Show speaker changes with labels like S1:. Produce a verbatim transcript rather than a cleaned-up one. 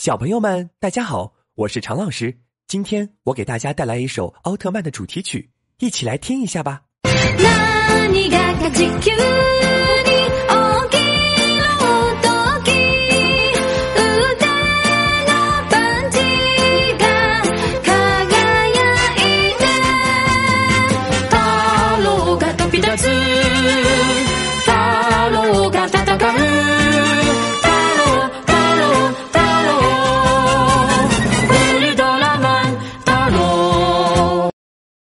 S1: 小朋友们，大家好，我是常老师。今天我给大家带来一首奥特曼的主题曲，一起来听一下吧。